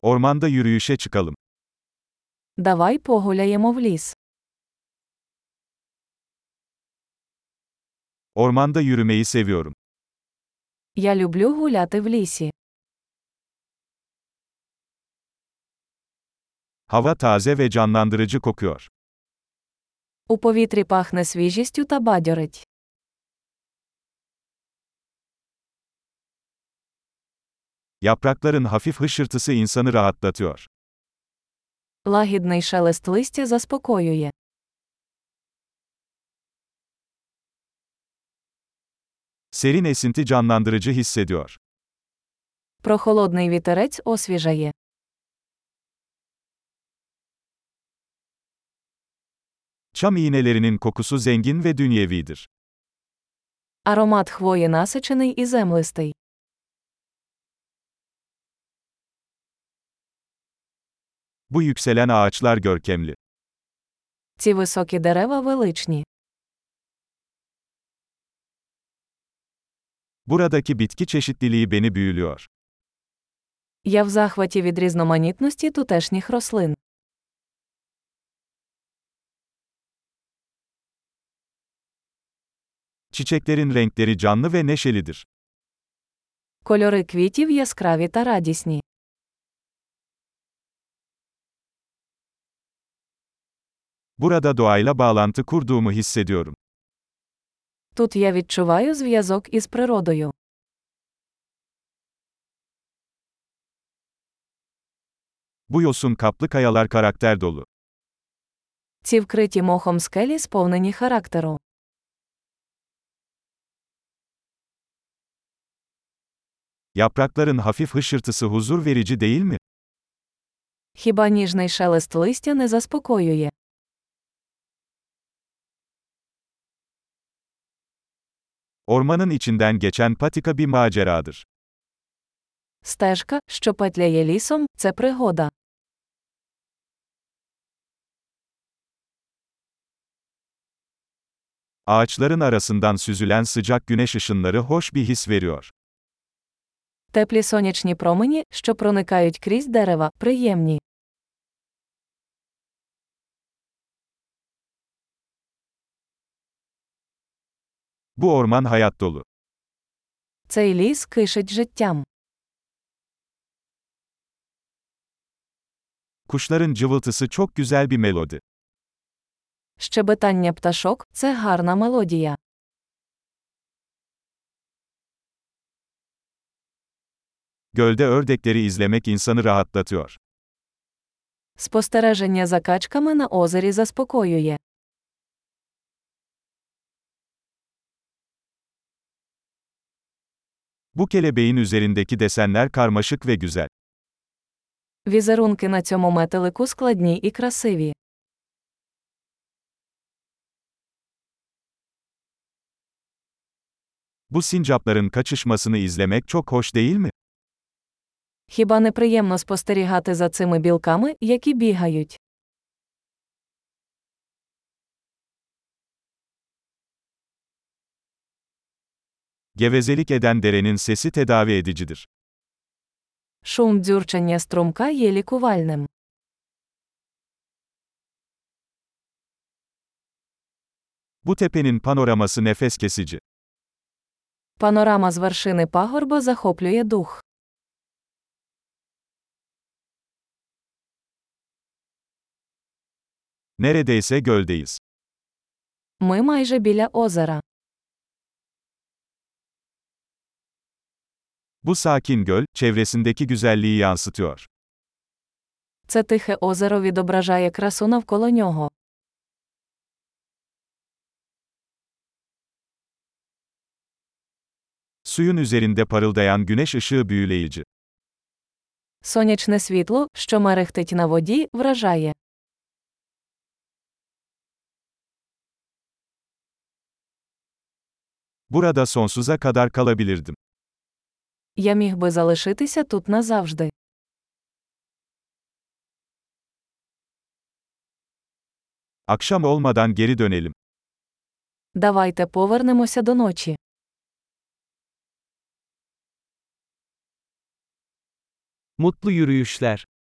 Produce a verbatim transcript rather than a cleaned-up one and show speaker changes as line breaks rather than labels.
Ormanda yürüyüşe çıkalım.
Давай погуляємо в ліс.
Ormanda yürümeyi seviyorum.
Я люблю гуляти в лісі.
Hava taze ve canlandırıcı kokuyor.
У повітрі пахне свіжістю та бадьорить.
Yaprakların hafif hışırtısı insanı rahatlatıyor.
Лагідний шелест листя заспокоює.
Serin esinti canlandırıcı hissediyor.
Прохолодний вітерець освіжає.
Çam iğnelerinin kokusu zengin ve dünyevidir.
Аромат хвої насичений і землистий.
Bu yükselen ağaçlar görkemli.
Ці високі дерева величні.
Buradaki bitki çeşitliliği beni büyülüyor.
Я в захваті від різноманітності тутешніх рослин.
Çiçeklerin renkleri canlı ve neşelidir.
Кольори квітів яскраві та радісні.
Burada doğayla bağlantı kurduğumu hissediyorum.
Тут я відчуваю зв'язок із природою.
Bu yosun kaplı kayalar karakter dolu.
Ці вкриті мохом скелі сповнені характеру.
Yaprakların hafif hışırtısı huzur verici değil mi?
Хіба ніжний шелест листя не заспокоює?
Ormanın içinden geçen patika bir maceradır.
Стежка, що петляє лісом, це пригода.
Ağaçların arasından süzülen sıcak güneş ışınları hoş bir his veriyor.
Теплі сонячні промені, що проникають крізь дерева, приємні.
Bu orman hayat dolu.
Цей ліс кишить життям.
Kuşların cıvıltısı çok güzel bir melodi.
Щебетання пташок – це гарна мелодія.
Gölde ördekleri izlemek insanı rahatlatıyor.
Спостереження за качками на озері заспокоює.
Bu kelebeğin üzerindeki desenler karmaşık ve güzel.
Візерунки на цьому метелику складні і красиві.
Bu sincapların kaçışmasını izlemek çok hoş değil mi?
Хіба не приємно спостерігати за цими білками, які бігають?
Gevezelik eden derenin sesi tedavi edicidir.
Шум дзюрчання струмка є лікувальним.
Bu tepenin panoraması nefes kesici.
Панорама з вершини пагорба захоплює дух.
Neredeyse göldeyiz.
Ми майже біля озера.
Bu sakin göl, çevresindeki güzelliği yansıtıyor.
Це тихе озеро відображає красу навколо нього.
Suyun üzerinde parıldayan güneş ışığı büyüleyici.
Сонячне світло, що мерехтить на воді, вражає.
Burada sonsuza kadar kalabilirdim.
Я міг би залишитися тут назавжди.
Akşam olmadan geri dönelim.
Давайте повернемося до ночі.
Mutlu yürüyüşler.